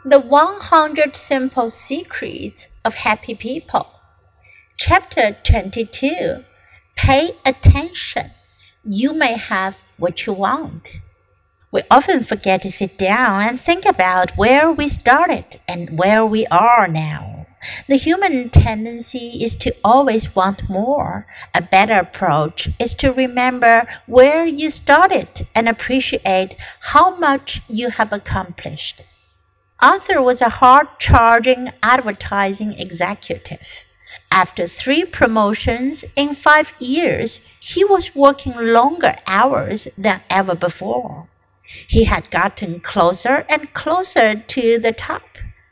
The 100 Simple Secrets of Happy People. Chapter 22. Pay attention. You may have what you want. We often forget to sit down and think about where we started and where we are now. The human tendency is to always want more. A better approach is to remember where you started and appreciate how much you have accomplished. Arthur was a hard-charging advertising executive. After 3 promotions in 5 years, he was working longer hours than ever before. He had gotten closer and closer to the top,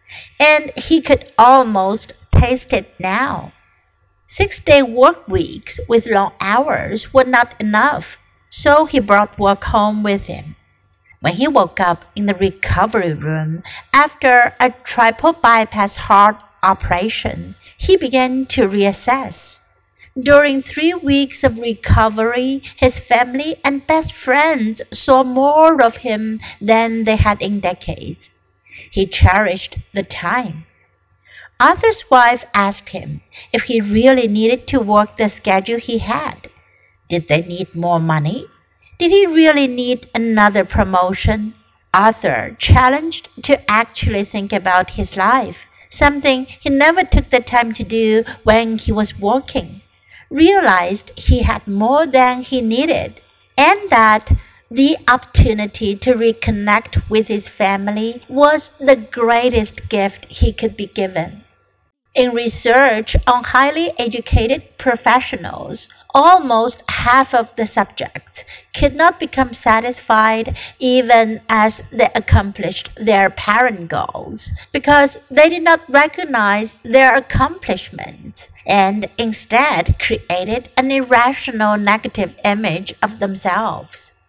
and he could almost taste it now. 6-day work weeks with long hours were not enough, so he brought work home with him. When he woke up in the recovery room after a triple bypass heart operation, he began to reassess. During 3 weeks of recovery, his family and best friends saw more of him than they had in decades. He cherished the time. Arthur's wife asked him if he really needed to work the schedule he had. Did they need more money? Did he really need another promotion? Arthur, challenged to actually think about his life, something he never took the time to do when he was working, realized he had more than he needed, and that the opportunity to reconnect with his family was the greatest gift he could be given. In research on highly educated professionals, almost half of the subjects could not become satisfied even as they accomplished their parent goals because they did not recognize their accomplishments and instead created an irrational negative image of themselves.